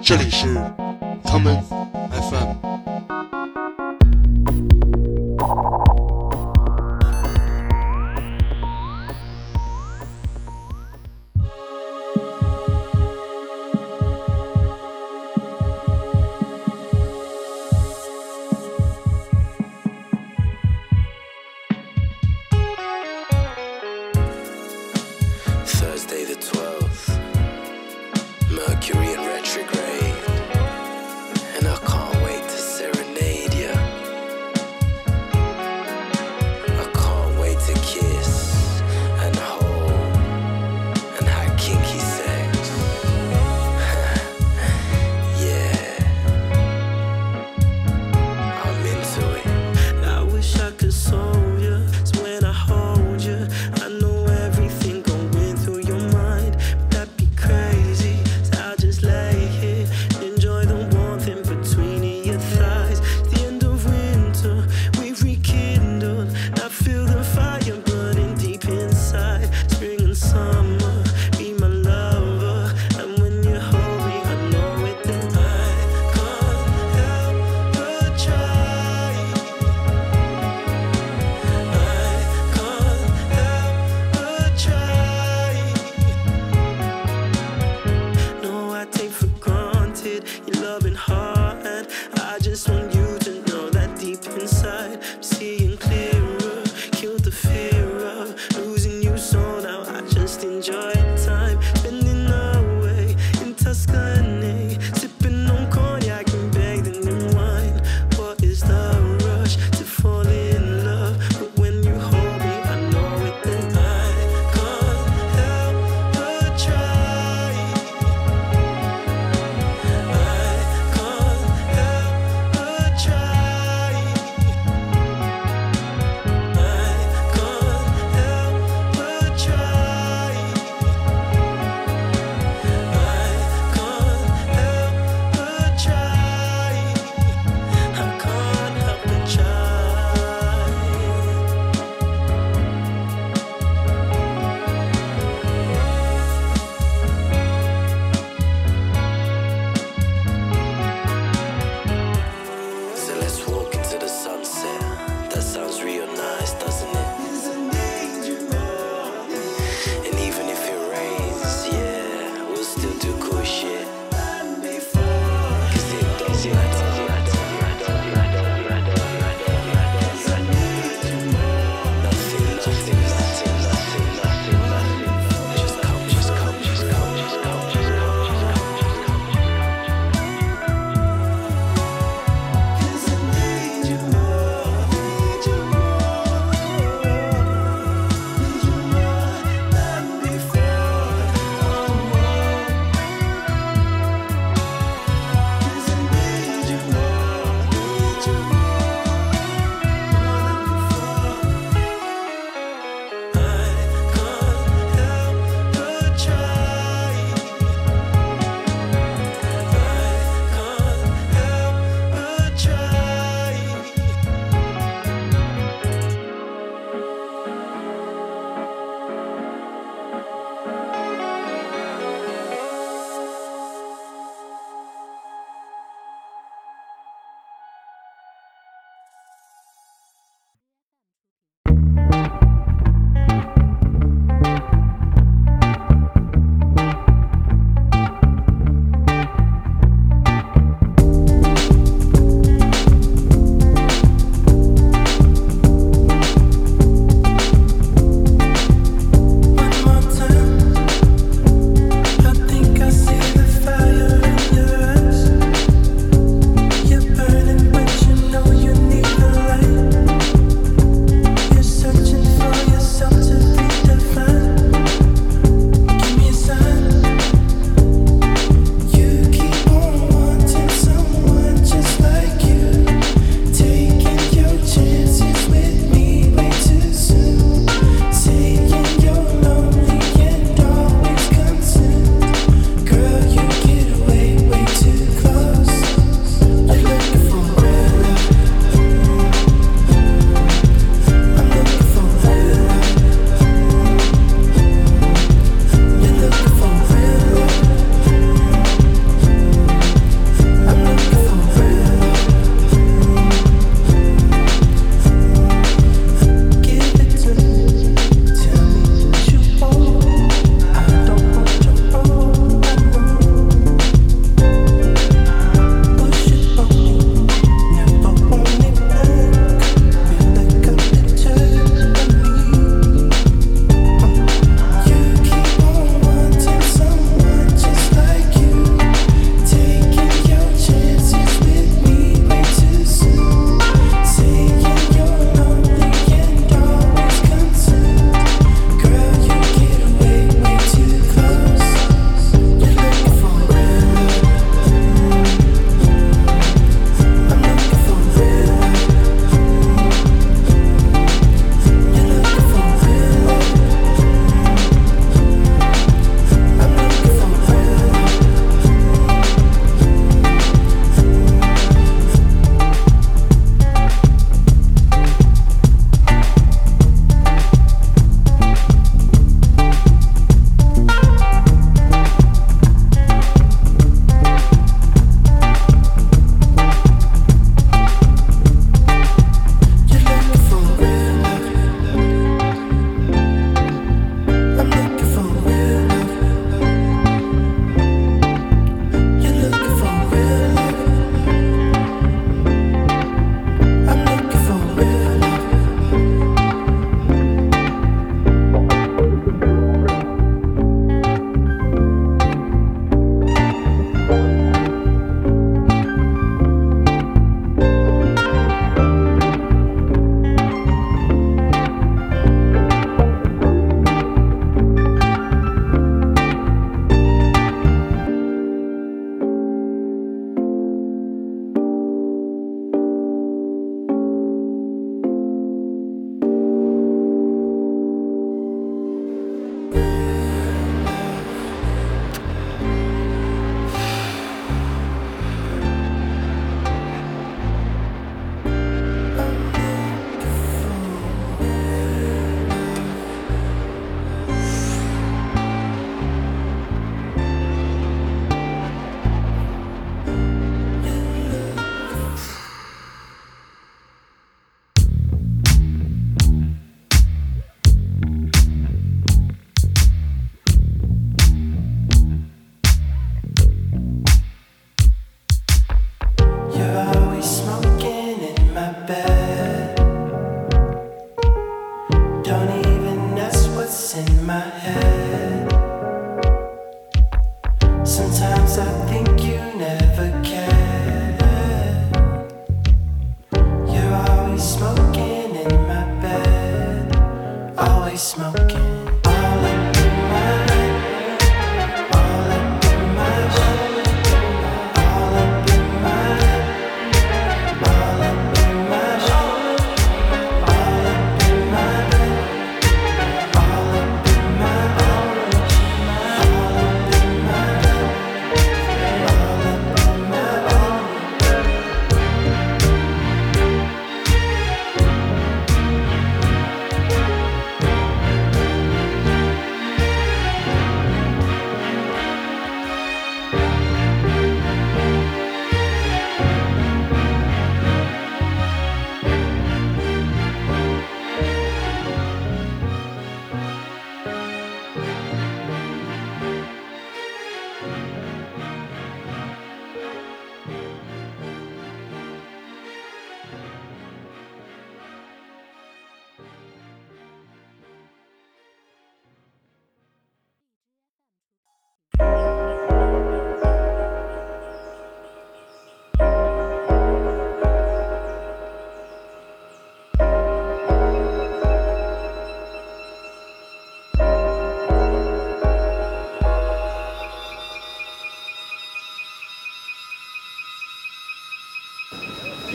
这里是 Common FM。 Thursday the 12th, Mercury in retrograde, and I can't wait to serenade ya. I can't wait to kiss and hold and have kinky sex. Yeah, I'm into it. I wish I could solve ya, so when I hold ya, I know everything going through your mind. But that'd be crazy, so I'll just lay here, enjoy the warmth in between your thighs. It's the end of winter, we've rekindled. I feel the fire burning deep inside. Spring and summer, be my lover. And when you hold me, I know it that I can't help but try. I can't help but try. No, I take for granted your loving heart, and I just want you to know that deep inside I'm seeing clearer, killed the fear of losing you. So now I just enjoy time spending away in Tuscany, sipping on cognac and bathing in wine. What is the rush to fall in love? But when you hold me, I know it that I can't help but try. I can't help but try. I can't help but try.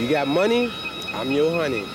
You got money? I'm your honey.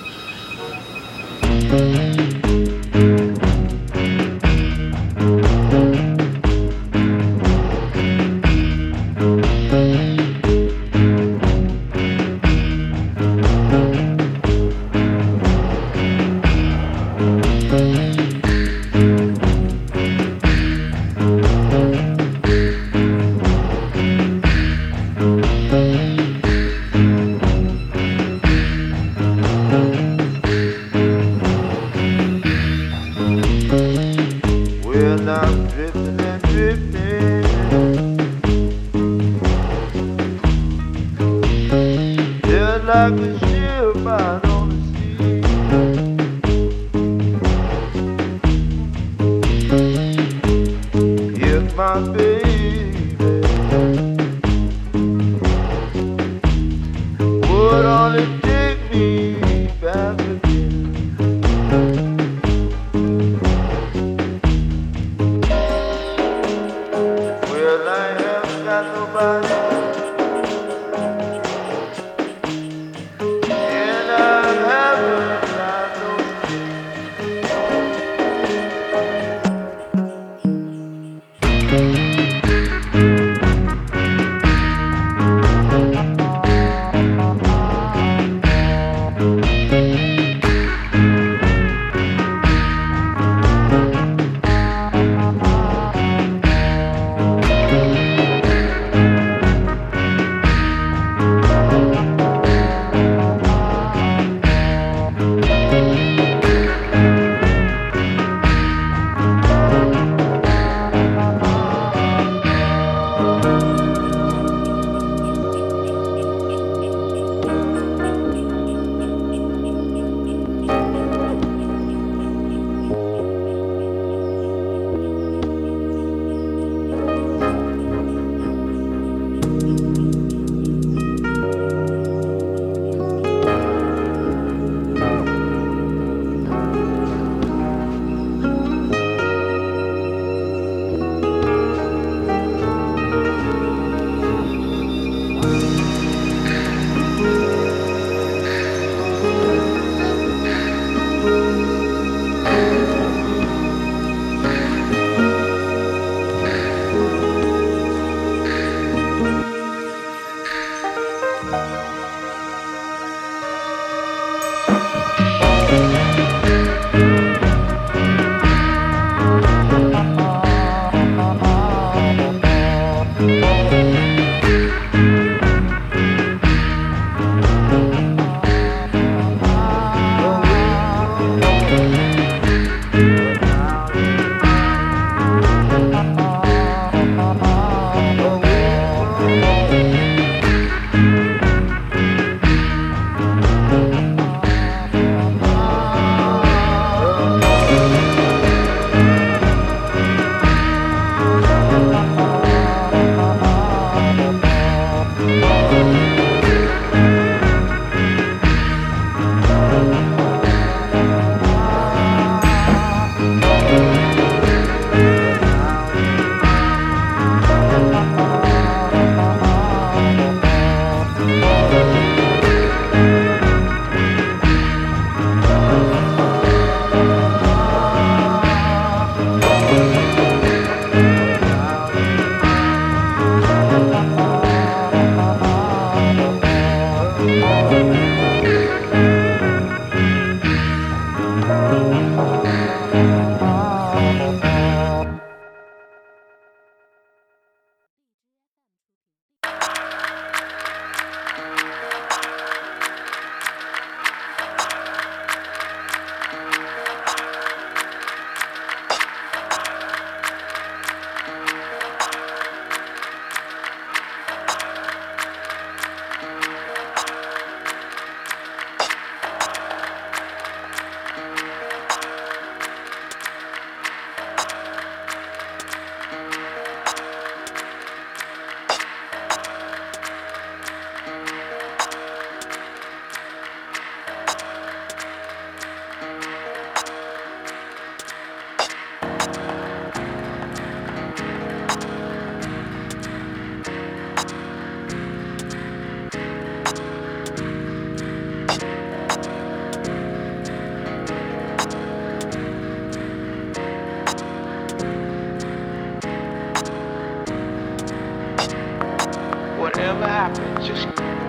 whatever happens, just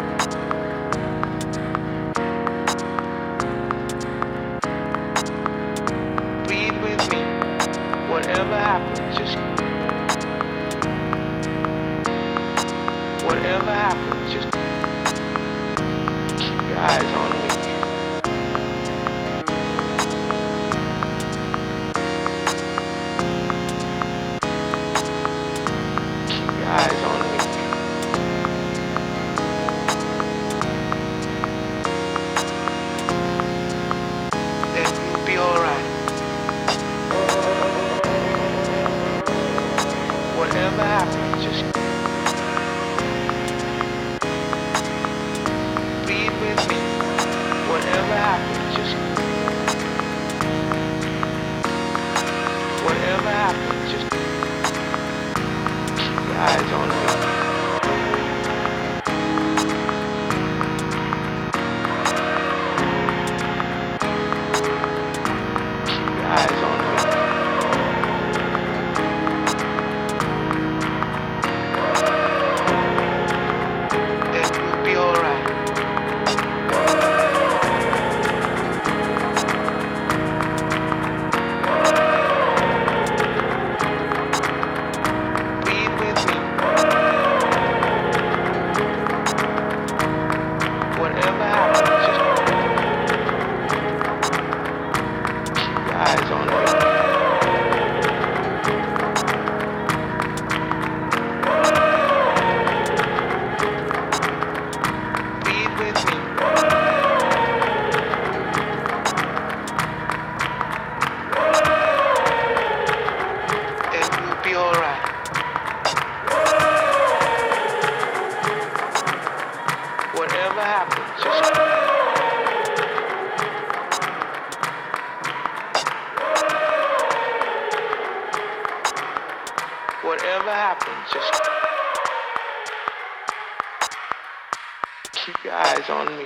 breathe with me. Whatever happens, just whatever happens, just keep your eyes on me. Keep your eyes on me. Then you'll be alright. Whatever happens, just breathe with me. Whatever happens, just whatever happens, just keep your eyes on me. Keep your eyes on me. Then you'll be alright. Breathe with me. Whatever happens, just keep your eyes on me. Breathe with me. Then you'll be alright. Whatever happens, just whatever happens, just keep your eyes on me.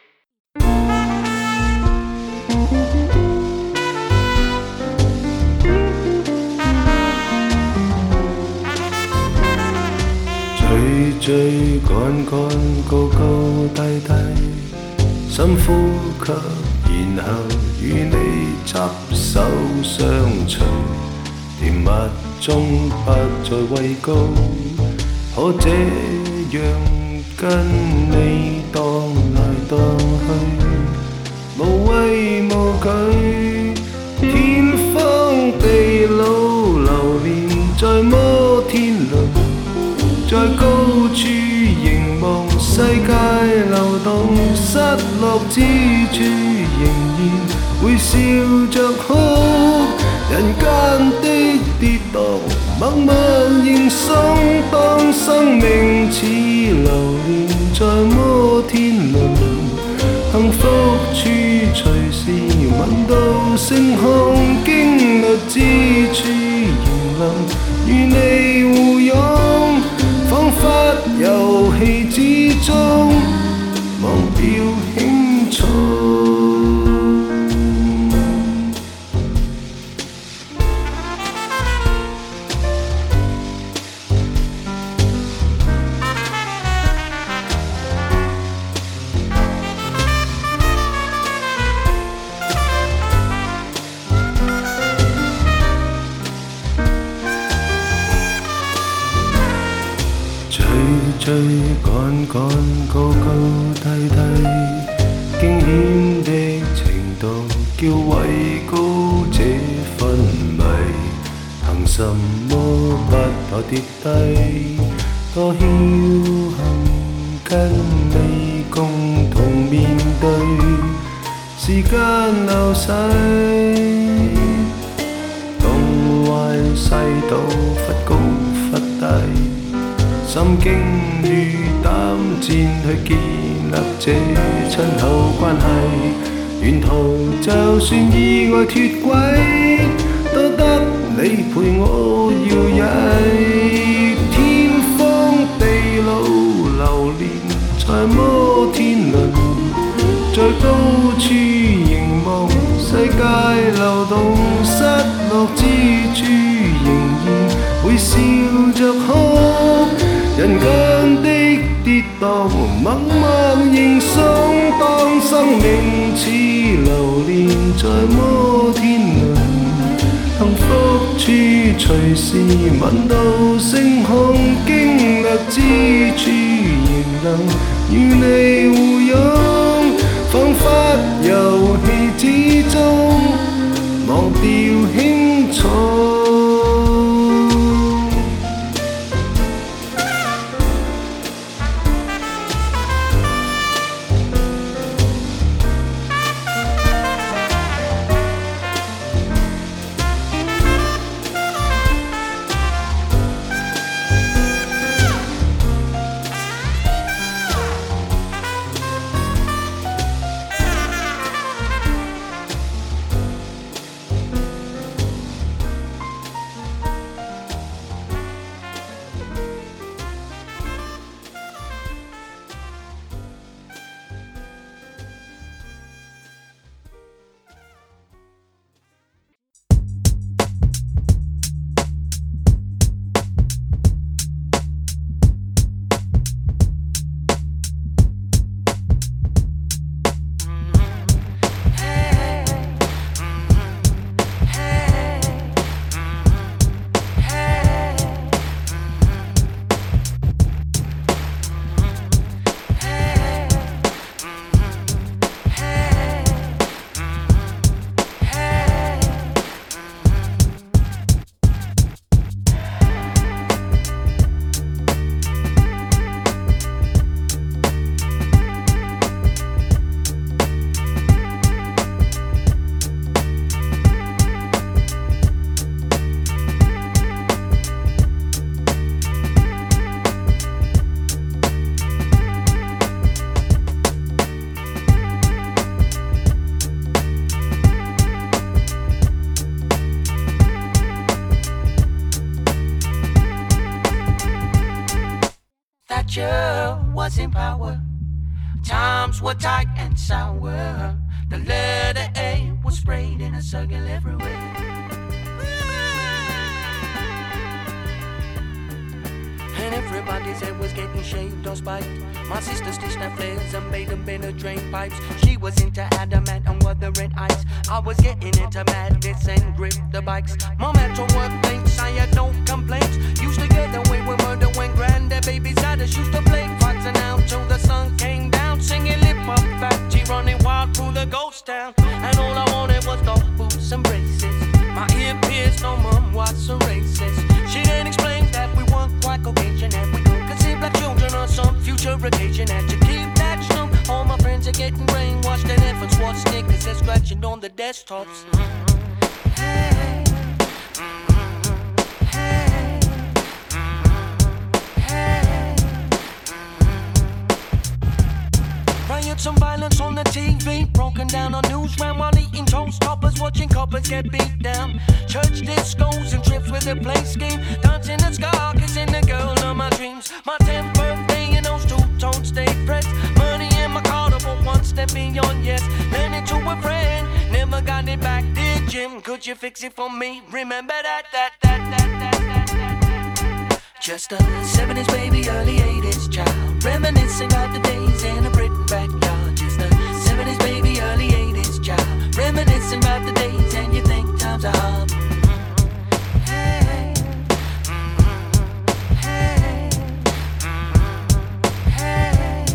追追趕趕，高高低低，深呼吸，然後與你執手相隨，甜蜜中不再畏高，可這樣跟你蕩來蕩去，無畏無懼，天荒地老，流連在摩天輪。在高處凝望世界流動，失落之處仍然會笑着哭。人間的跌宕，默默認送。當生命似流連在摩天輪，幸福處隨時聞到星空，經歷之處仍能與你互擁。彷彿遊戲之中，忘掉輕重。追趕趕，高高低低，驚險的程度叫畏高這昏迷。憑什麼不怕跌低？多僥倖跟你共同面對，時間流逝，東歪西倒，忽高忽低。心經與膽戰去建立這親厚關係，沿途就算意外脫軌，都得你陪我搖曳。天荒地老，流連在摩天輪，在高處凝望世界流動，失落之處仍然會笑着哭。人間的跌當，默默凝想，當生命似流連在摩天輪，幸福處隨時聞到星空，經歷之處仍能與你互擁，彷彿遊戲之中忘掉輕重。 Was in power. Times were tight and sour. The letter A was sprayed in a circle everywhere. And everybody's head was getting shaved or spiked. My sister stitched her flares and made them bend her drain pipes. She was into adamant and wuthering ice. I was getting into madness and grip the bikes. Mom had to work late, I had no complaints. Used to get away with murder when granddad babies had us. Used to play fights and out till the sun came down. Singing lip up fat, G running wild through the ghost town. And all I wanted was the boots and braces. My ear pierced, no mom was a racist. She then explained that we weren't quite Caucasian and we could conceive black children on some future occasion. And to keep that snow, all my friends are getting brainwashed and efforts watch sneakers they're scratching on the desktops. Hey. Some violence on the TV, broken down on news ran while eating toast toppers, watching coppers get beat down. Church discos and trips with a play scheme, dancing the ska, kissing the girl of my dreams. My 10th birthday and those two-tone stay pressed. Money in my car to put one step beyond yes. Lend it to a friend, never got it back. Dear Jim, could you fix it for me? Remember that. Just a 70s baby, early 80s child, reminiscing about the days in a Britain backyard. Just a 70s baby, early 80s child, reminiscing about the days and you think times are hard. Hey, hey, hey.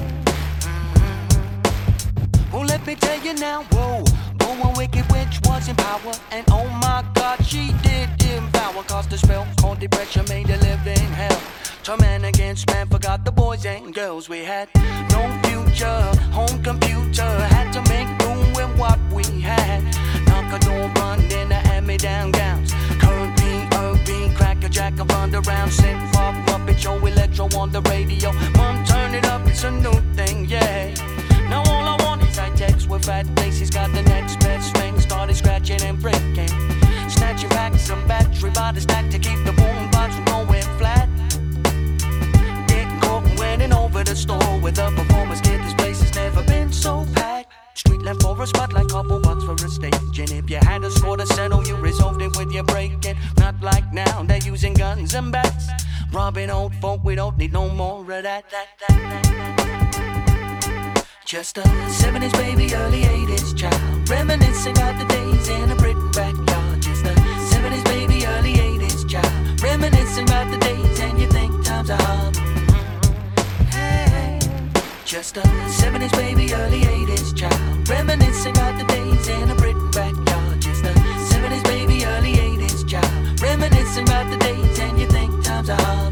Well, let me tell you now, whoa, a wicked witch was in power, and oh my God, she did devour. Cause the spell called depression made a living hell. Turn man against man, forgot the boys and girls we had. No future, home computer, had to make do with what we had. Knock a door, run in the hand-me-down gowns. Current P, crack a jack and run around. Synth pop, Muppet show, electro on the radio. Mom, turn it up, it's a new thing, yeah. Now all I want is high text with fat faces. Got the next best thing, started scratching and breaking. Snatching back some battery by the stack to keep the boom box from going flat. Getting caught and winning over the store with a performance kit. This place has never been so packed. Street left for a spotlight, couple bucks for a stage. And if you had a score to settle, you resolved it with your breaking. Not like now, they're using guns and bats. Robbing old folk, we don't need no more of that. Just a 70s baby, early 80s child, reminiscing about the days in a Britain backyard. Just a 70s baby, early 80s child, reminiscing about the days and you think times are hard. Hey, just a 70s baby, early 80s child, reminiscing about the days in a Britain backyard. Just a 70s baby, early 80s child, reminiscing about the days and you think times are hard.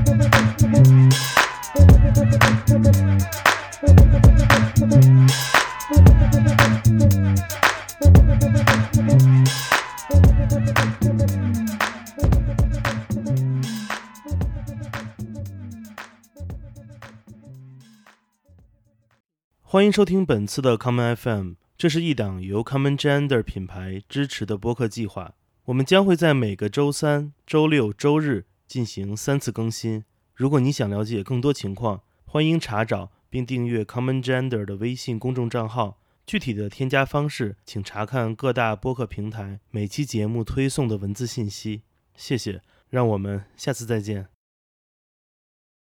欢迎收听本次的 Common FM， 这是一档由 Common Gender 品牌支持的播客计划。我们将会在每个周三、周六、周日进行3次更新。如果你想了解更多情况，欢迎查找并订阅 Common Gender 的微信公众账号。具体的添加方式，请查看各大播客平台每期节目推送的文字信息。谢谢，让我们下次再见。